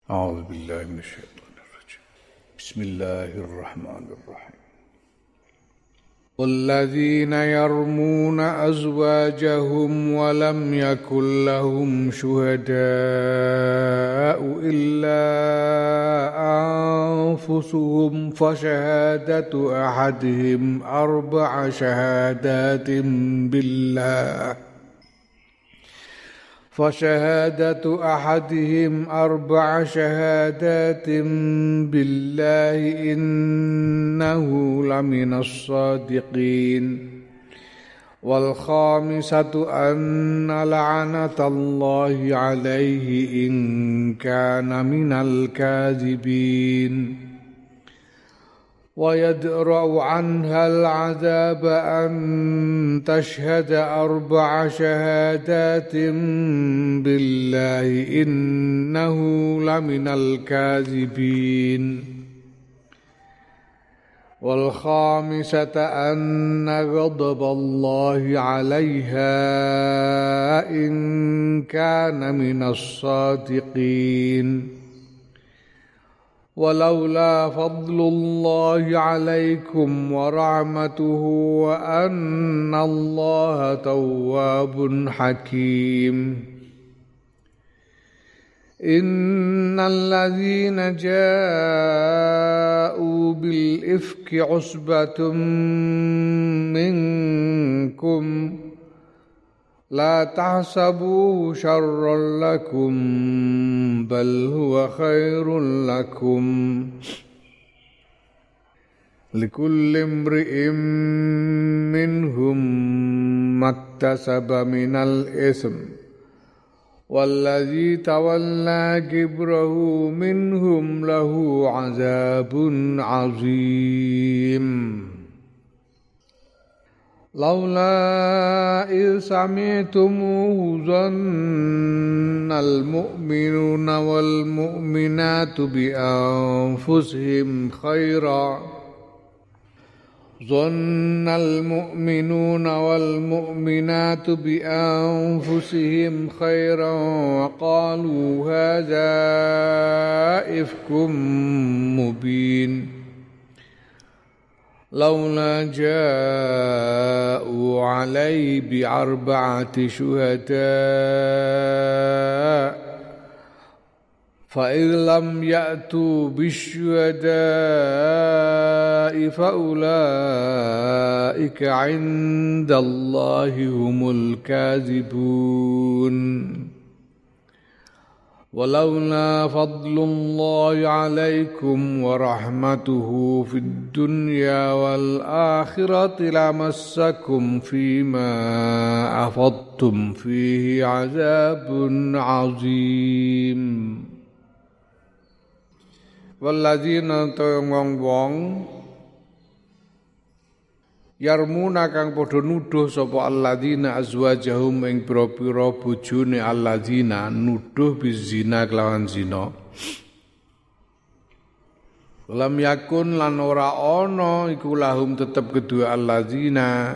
أعوذ بالله من الشيطان الرجيم بسم الله الرحمن الرحيم والذين يرمون أزواجهم ولم يكن لهم شهداء إلا أنفسهم فشهادة أحدهم أربع شهادات بالله إنه لمن الصادقين والخامسة أن لعنة الله عليه إن كان من الكاذبين ويدرأ عنها العذاب أن تشهد أربع شهادات بالله إنه لمن الكاذبين والخامسة أن غضب الله عليها إن كان من الصادقين ولولا فضل الله عليكم ورحمته وأن الله تواب حكيم إن الذين جاءوا بالإفك عصبة منكم لا تحسبوه شرا لكم بل هو خير لكم لكل امرئ منهم ما اكتسب من الإثم والذي تولى كبره منهم له عذاب عظيم لولا إذ سمعتموه ظن المؤمنون والمؤمنات بأنفسهم خيرا وقالوا هذا إفك مبين لولا جاءوا عليه بأربعة شهداء فإذ لم يأتوا بالشهداء فأولئك عند الله هم الكاذبون ولولا فضل الله عليكم ورحمته في الدنيا والآخرة لمسكم فيما أفضتم فيه عذاب عظيم والذين wong yarmuna kang padha nuduh sapa alladzina azwajahum ing pira-pira bojone alladzina nuduh bizina kelawan zina lam yakun lan ora ana iku lahum tetep kedua alladzina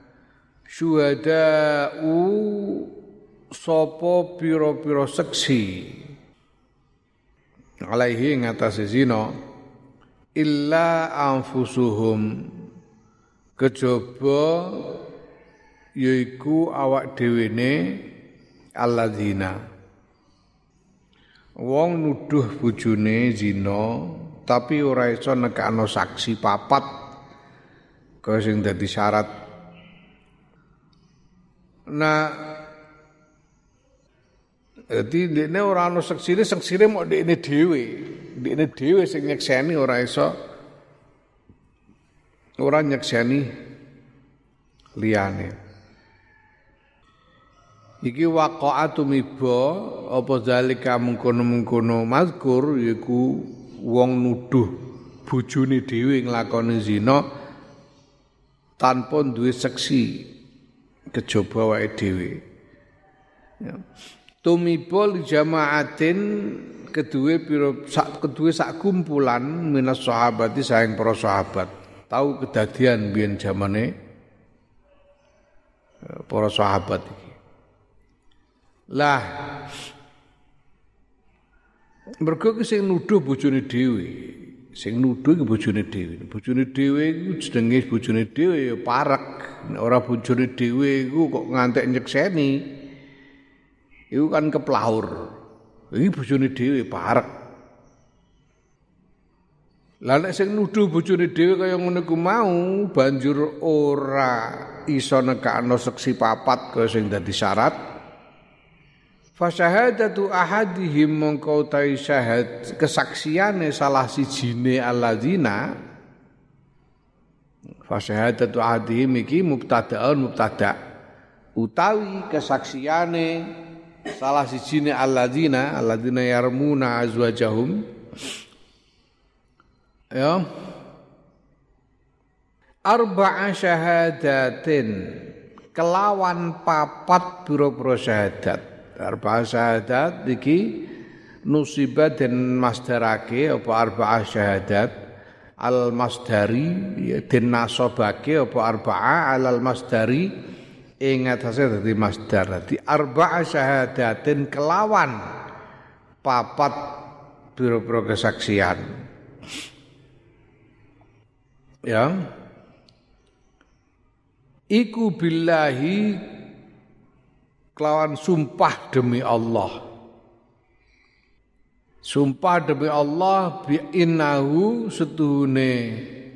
syuhada'u sapa pira-pira seksi alaihi ngatasé zina illa anfusuhum kejaba yaiku awak dhewene alladzina wong nuduh bojone zina tapi ora iso nekakno saksi papat kaya sing dadi syarat. Nah dadi dekne ora ana saksine mok dekne dhewe sing nyekseni ora iso ora nyekseni liyane. Iki waqa'atu miba apa zalika mungkono-mungkono mazkur yaiku wong nuduh bojone dhewe nglakoni zina tanpa duwe seksi kejaba wae dhewe. Ya. Tumiba li jamaatin kedue sak kumpulan minas sahabati saing para sahabat. Tahu kedadian biyen zamane para sahabat iki. Lah Mergo ki sing nuduh bojone dhewe. Sing nuduh ki bojone dhewe. Bojone dhewe iku jenenge bojone dhewe ya parek. Nek ora bojone dhewe iku kok ngantek nyekseni. Iku kan keplaur. Iki bojone dhewe parek. Lah nek sing nuduh bojone dhewe kaya ngono ku mau banjur ora iso nekakno seksi papat kaya sing dadi syarat. Fa syahadatu ahadihim mongko utawi syahad kesaksiane salah sijine alladzina. Fa syahadatu ahadihim iki mubtada utawi kesaksiane salah sijine alladzina yarmuna azwajahum ya arba'a syahadatin kelawan papat biro-biro syahadat. Arba'a syahadat iki nusibah den masdarake apa arba'a syahadat al masdari den nasobake apa arba'a alal masdari ing atase dadi masdar. Dadi arba'a syahadatin kelawan papat biro-biro kesaksian. Ya. Iku billahi kelawan sumpah demi Allah. Sumpah demi Allah bi innahu setuhune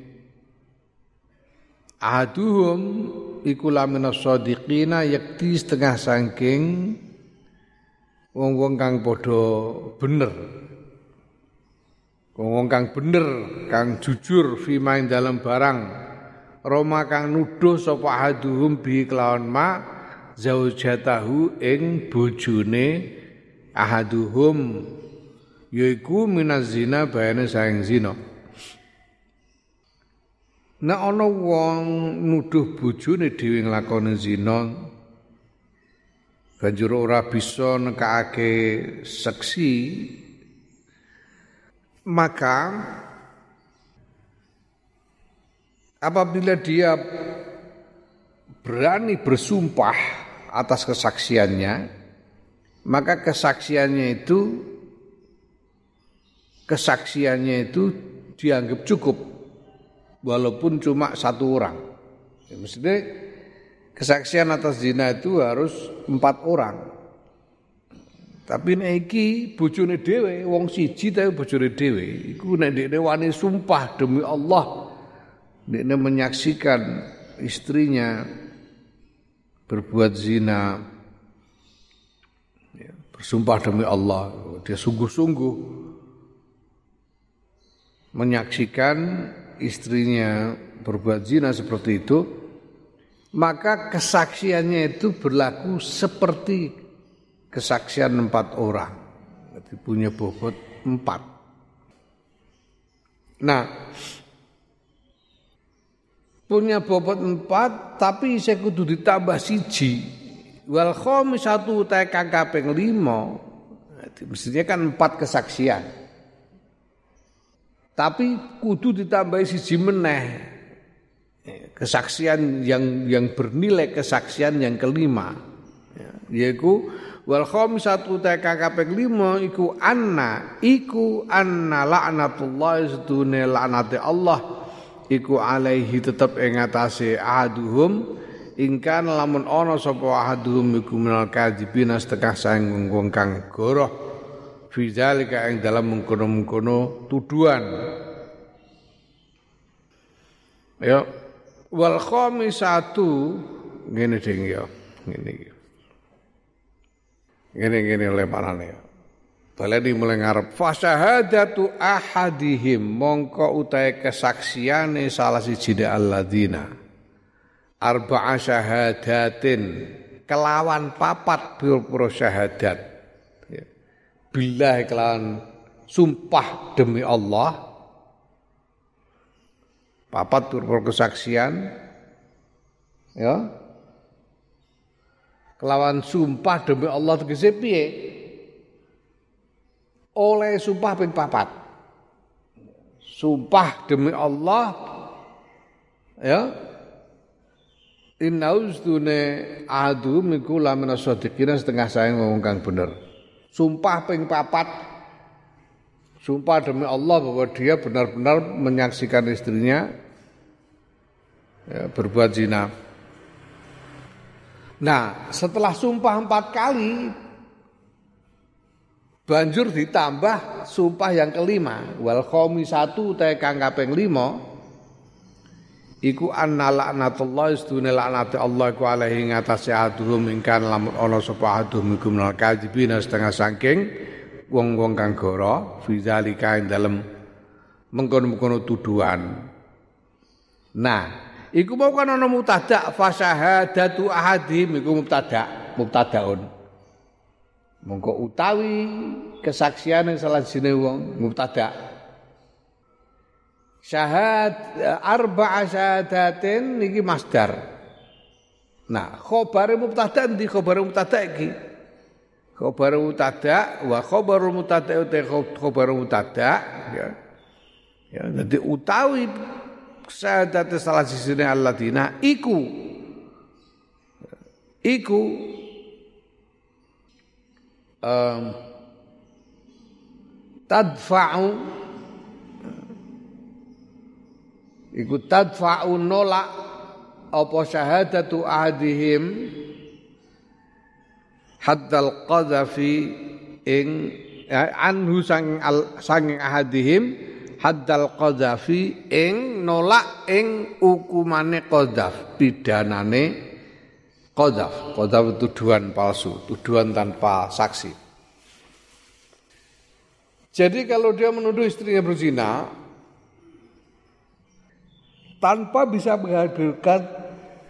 ahaduhum iku laminas shadiqina yakti setengah saking wong-wong kang padha bener. Wong kang bener, kang jujur fima ing dalam barang Roma kang nuduh sapa ahaduhum bi kelawan ma zaujatahu ing bojone ahaduhum yaiku minaz zina bayane saing zina. Nek ana wong nuduh bojone dhewe nglakoni zina banjur ora bisa nekake seksi maka apabila dia berani bersumpah atas kesaksiannya, maka kesaksiannya itu dianggap cukup walaupun cuma satu orang. Ya, maksudnya kesaksian atas zina itu harus 4 orang. Tapi nek iki bojone dhewe wong siji ta bojone dhewe iku nek dekne wani sumpah demi Allah dekne menyaksikan istrinya berbuat zina ya, bersumpah demi Allah dia sungguh-sungguh menyaksikan istrinya berbuat zina seperti itu maka kesaksiannya itu berlaku seperti kesaksian 4 orang. Jadi punya bobot 4. Nah, punya bobot 4 tapi isih kudu ditambah 1. Wal khamisatu ta kang kaping 5. Jadi mestinya kan 4 kesaksian. Tapi kudu ditambah 1 meneh. Kesaksian yang bernilai kesaksian yang kelima. Yaitu wal khamisatu ta kaping 5 iku anna laknatullah sedune laknate Allah iku alaihi tetep ing atase ahaduhum ingkan lamun ana sapa ahaduhum iku minal kadzibina setengah saing wong kang goroh fi zalika ing dalam mengkono-mengkono tuduhan ya wal khamisatu ngene ding ya ngene iki Gini oleh panane. Baleni mulai ngarep fa syahadatu ahadihim mongko utahe kesaksiane salah siji alladzina arba'a syahadatin kelawan papat pira-pira syahadat ya. Billah kelawan sumpah demi Allah papat pira-pira kesaksian ya kelawan sumpah demi Allah tegese piye? Oleh sumpah ping 4. Sumpah demi Allah ya. Innaustune adu miku lamina shadiqina setengah saing wong kang bener. Sumpah ping 4 sumpah demi Allah bahwa dia benar-benar menyaksikan istrinya berbuat zina. Nah, setelah sumpah 4 kali, banjur ditambah sumpah yang kelima, wal khamisatu ta kang kaping 5, iku anna laknatullah istune laknate Allah iku alaihi ngatasi aduhum ingkang lamun ana sapa aduhum iku minal kadzibin setengah saking wong-wong kang goro fi zalika ing dalem mengkono-mengkono tuduhan. Nah, iku mau kan ana mubtada fa syahadatu ahadim iku mubtadaun. Mongko utawi kesaksian salah siji wong mubtada. Arba'a syahadatin niki masdar. Nah, khabare mubtada ndi khabare mubtada iki? Khabar mubtada wa khabarul mubtada uta khabar mubtada ya. Ya, dadi utawi syahadat salah sisine alladzina iku tadfa'u nolak apa syahadatu ahadihim haddal qadhafi ing anhu sanging ahadihim haddal qadhafi ing nolak ing hukumane qadhaf pidanane qadhaf tuduhan palsu, tuduhan tanpa saksi. Jadi kalau dia menuduh istrinya berzina tanpa bisa menghadirkan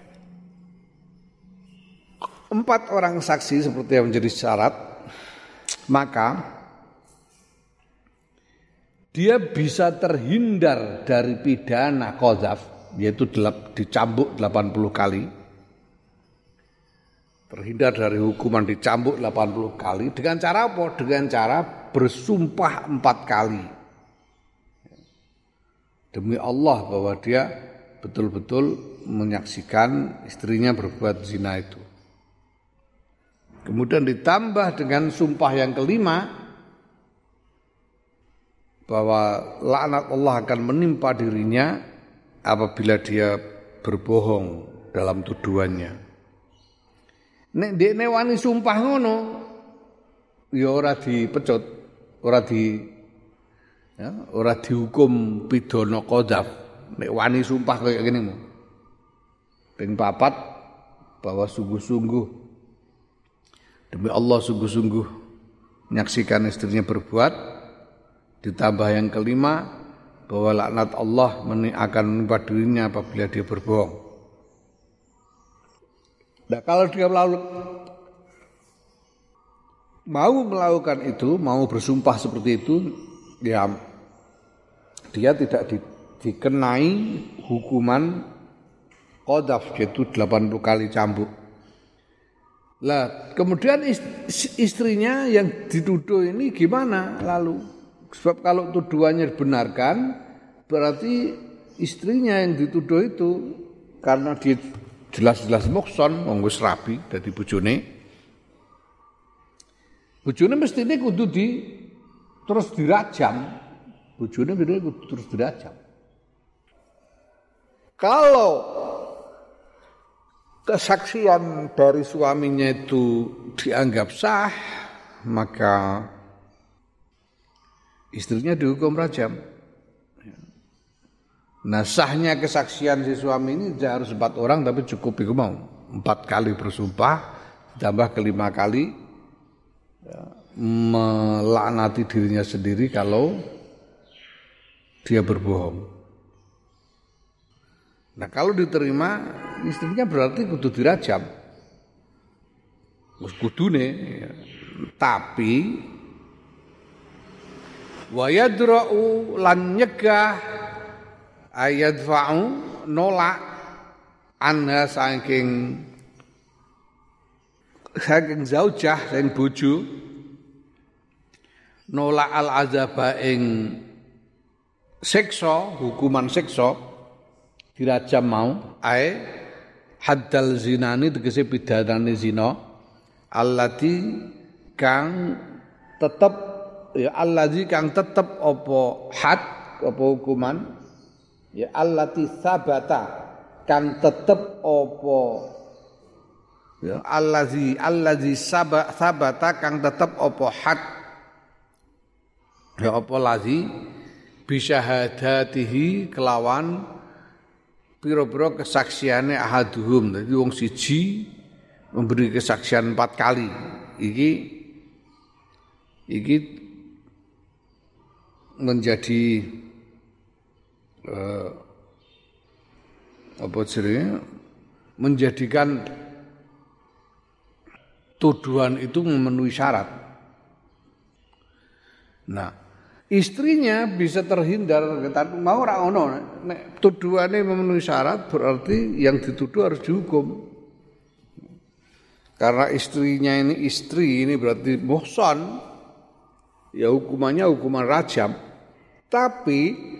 4 orang saksi seperti yang menjadi syarat, maka dia bisa terhindar dari pidana qadzaf, yaitu dicambuk 80 kali. Terhindar dari hukuman dicambuk 80 kali dengan cara apa? Dengan cara bersumpah 4 kali. Demi Allah bahwa dia betul-betul menyaksikan istrinya berbuat zina itu. Kemudian ditambah dengan sumpah yang kelima bahwa laknat Allah akan menimpa dirinya apabila dia berbohong dalam tuduhannya. Nek dekne wani sumpah ngono ya ora dipecut, ora dihukum pidana qadzaf. Nek wani sumpah kaya ngene. Ping 4 bahwa sungguh-sungguh demi Allah sungguh-sungguh menyaksikan istrinya berbuat, ditambah yang kelima bahwa laknat Allah akan menimpa dirinya apabila dia berbohong. Nah, kalau dia mau melakukan itu, mau bersumpah seperti itu, ya dia tidak dikenai hukuman qadzaf, yaitu 80 kali cambuk. Lah, kemudian istrinya yang dituduh ini gimana lalu? Sebab kalau tuduhannya dibenarkan, berarti istrinya yang dituduh itu karena dia jelas-jelas muhson, wong wis rabi dadi bojone. Bojone mestine kudu terus dirajam. Bojone kudu terus dirajam. Kalau kesaksian dari suaminya itu dianggap sah, maka istrinya dihukum rajam. Nah, sahnya kesaksian si suami ini harus 4 orang, tapi cukup itu mau 4 kali bersumpah, ditambah ke-5 kali melaknati dirinya sendiri kalau dia berbohong. Nah, kalau diterima istrinya berarti kudu dirajam. Wis kudune, tapi wa yadra'u lan nyegah ayadfa'u nolak anha saking zaujah sing bojo nolak al azaba ing siksa, hukuman siksa dirajam mau ae haddal zinani tegese pidanane zina allati kang tetep ya allazi kang tetep apa had apa hukuman ya allati sabata kang tetep apa ya allazi sabata kang tetep apa had ya apa lazi bisyahadatihi kelawan pira-pira kesaksiane ahaduhum. Dadi wong siji memberi kesaksian 4 kali. Iki menjadi apa jenenge? Menjadikan tuduhan itu memenuhi syarat. Nah, istrinya bisa terhindar, tapi mau ora ono nek tuduhane memenuhi syarat berarti yang dituduh harus dihukum. Karena istrinya ini berarti muhsan, ya hukumannya hukuman rajam. Tapi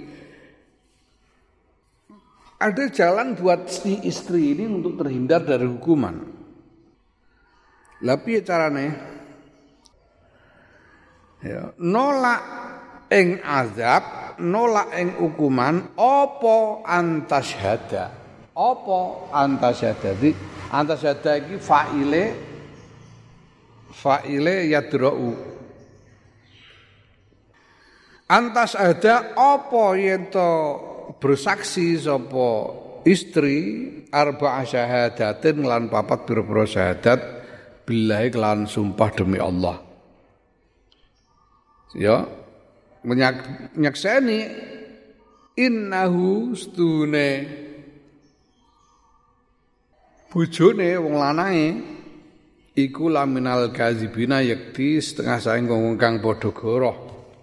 ada jalan buat si istri ini untuk terhindar dari hukuman. Lah piye carane? Ya, nolak ing azab, nolak ing hukuman apa antasyhada. Apa antasyhada? Antasyhada iki faile yadra'u. Antasyhada apa yen to bersaksi sapa istri arba'a syahadatin lan 4 pira-pira syahadat billahi lan sumpah demi Allah. Ya, menyakseni innahu stune bojone wong lanange iku laminal kadzibina yakti setengah saing wong kang padha goroh.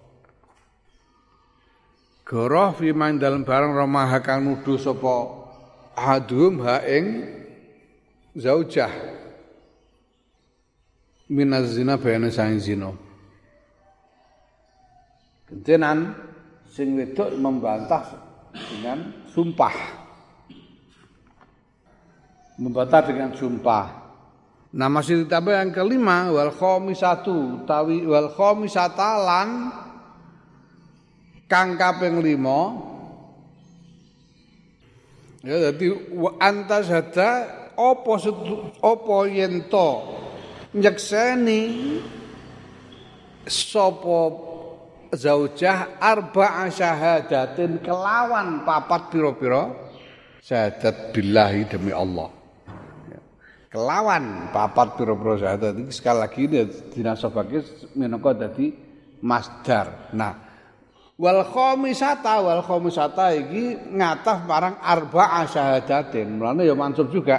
Goroh fi man dalem barang ramah kang nuduh sapa adhum ha ing zaujah minaz zina bayane saing zina. Kentenan sing wedok membantah dengan sumpah. Membantah dengan sumpah. Nah masih ditambah yang kelima wal khamisatu tawi wal khamisata lan kang kaping 5. Ya dadi antasyhada apa yen to nyekseni sapa zaujah arba'a syahadatin kelawan 4 pira-pira syahadat billahi demi Allah. Kelawan 4 pira-pira syahadat iki sekali lagi dinasabake minangka dadi masdar. Nah, wal khamisata iki ngatah marang arba'a syahadatin. Mulane ya mansub juga.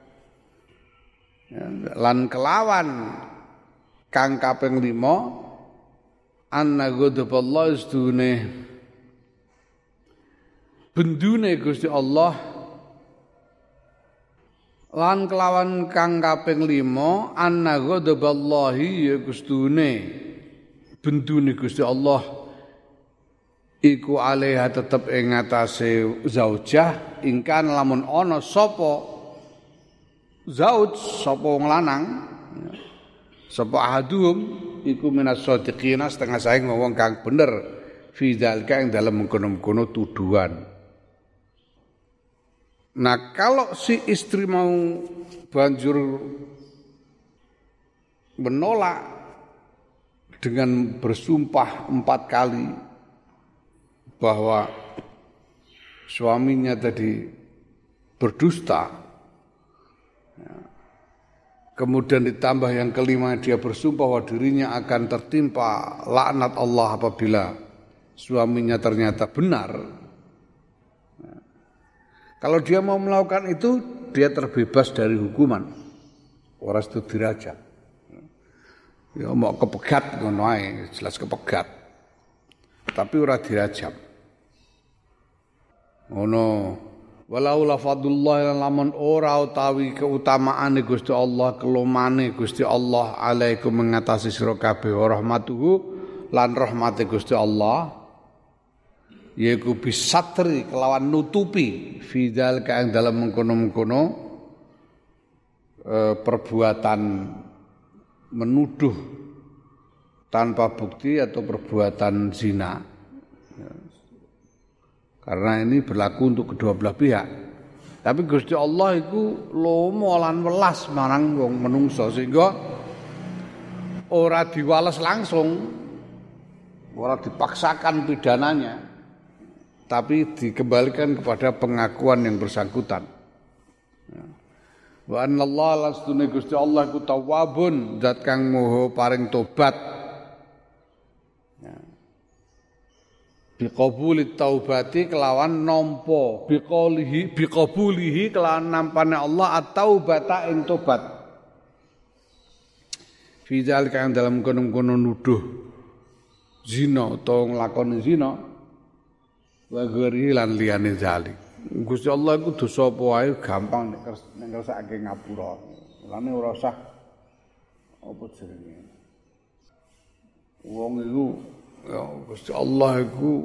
Ya, lan kelawan kang kaping 5 anna ghadaballah istune bendune Gusti Allah lan kelawan kang kaping 5 anna ghadaballahi ya gustune bendune Gusti Allah iku alaiha tetep ing ngatasé zaujah ingkan lamun ana sapa zauj sapa wong lanang sapa ahadum iku minas shadiqina setengah saing wong kang bener fi dzalika ing dalem mengkono-mengkono tuduhan. Nah kalau si istri mau banjur menolak dengan bersumpah 4 kali bahwa suaminya tadi berdusta, kemudian ditambah yang kelima dia bersumpah bahwa dirinya akan tertimpa laknat Allah apabila suaminya ternyata benar. Kalau dia mau melakukan itu, dia terbebas dari hukuman. Ora itu dirajam. Ya mau kepegat ngono ae, jelas kepegat. Tapi ora dirajam. Ngono. Walau lafadullah lamun ora utawi keutamaane Gusti Allah, kelomane Gusti Allah alaikum mengatasi sira kabeh rahmatuhu lan rahmate Gusti Allah. Yaiku bisatri kelawan nutupi fidal kang dalam mengkono-mengkono perbuatan menuduh tanpa bukti atau perbuatan zina. Karena ini berlaku untuk kedua belah pihak. Tapi Gusti Allah itu lomo lan welas marang wong menungso sehingga ora diwales langsung, ora dipaksakan pidananya, tapi dikembalikan kepada pengakuan yang bersangkutan. Wa anallahu lastune Gusti Allah iku tawwabun, zat kang moho paring tobat. Biqabulit taubati kelawan nampa biqabulihi kelawan nampane Allah at-taubata ing tobat. Fi zalika ing dalam kono-kono nuduh zina utawa nglakoni zina wa ghairi lan liyane zalik. Gusti Allah iku dosa apa wae gampang nek kersake ngapura. Lane ora usah apa jenenge. Wong iku ya Gusti Allah iku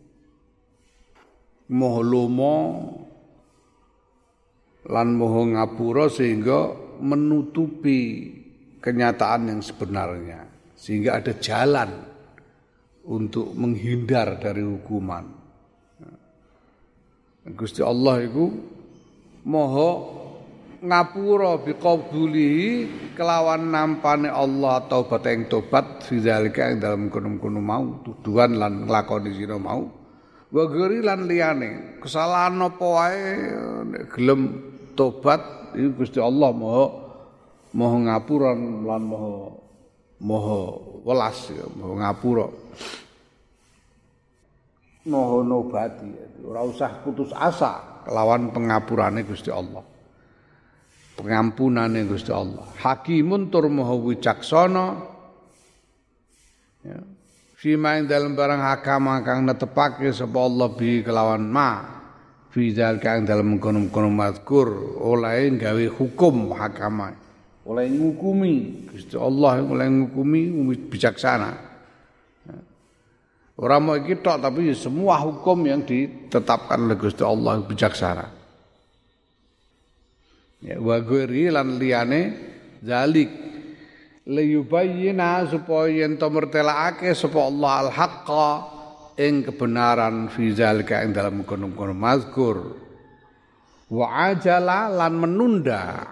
Maha Lomo lan Maha Ngapura sehingga menutupi kenyataan yang sebenarnya, sehingga ada jalan untuk menghindar dari hukuman. Gusti Allah iku Maha ngapura biqabulihi kelawan nampane Allah taubat ing tobat fidzalika ing dalem kono-kono mau tuduhan lan nglakoni zina mau wa ghairi lan liyane kesalahan apa wae nek gelem tobat iku Gusti Allah maha ngapura lan maha welas ya maha ngapura maha nobati ora usah putus asa kelawan pengapurane Gusti Allah. Pengampunane Gusti Allah. Hakimun tur maha wicaksana. Ya. Fima ing dalem barang hakama kang netepake sapa Allah bi kelawan ma. Fi zalika ing dalem kono-kono mazkur oleh gawe hukum hakama. Oleh ngukumi Gusti Allah oleh ngukumi bijaksana. Ya. Ora mau iki tok tapi semua hukum yang ditetapkan oleh Gusti Allah bijaksana. Ya wa ghairi lan liyane zalik liyubayyina supaya yen to mertelakake sapa Allah al-haqqa ing kebenaran fi zalika ing dalam kono-kono mazkur wa ajala lan menunda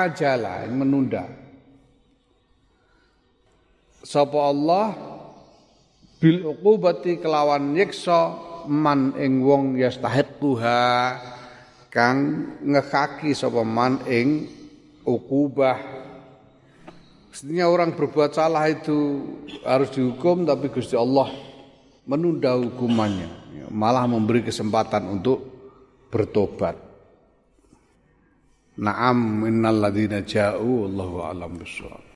sapa Allah bil uqubati kelawan nyiksa man ing wong yastahiquha kang ngekaki sapa man ing ukubah. Mestinya orang berbuat salah itu harus dihukum tapi Gusti Allah menunda hukumannya, malah memberi kesempatan untuk bertobat. Na'am innal ladzina ja'u wallahu a'lam bissawab.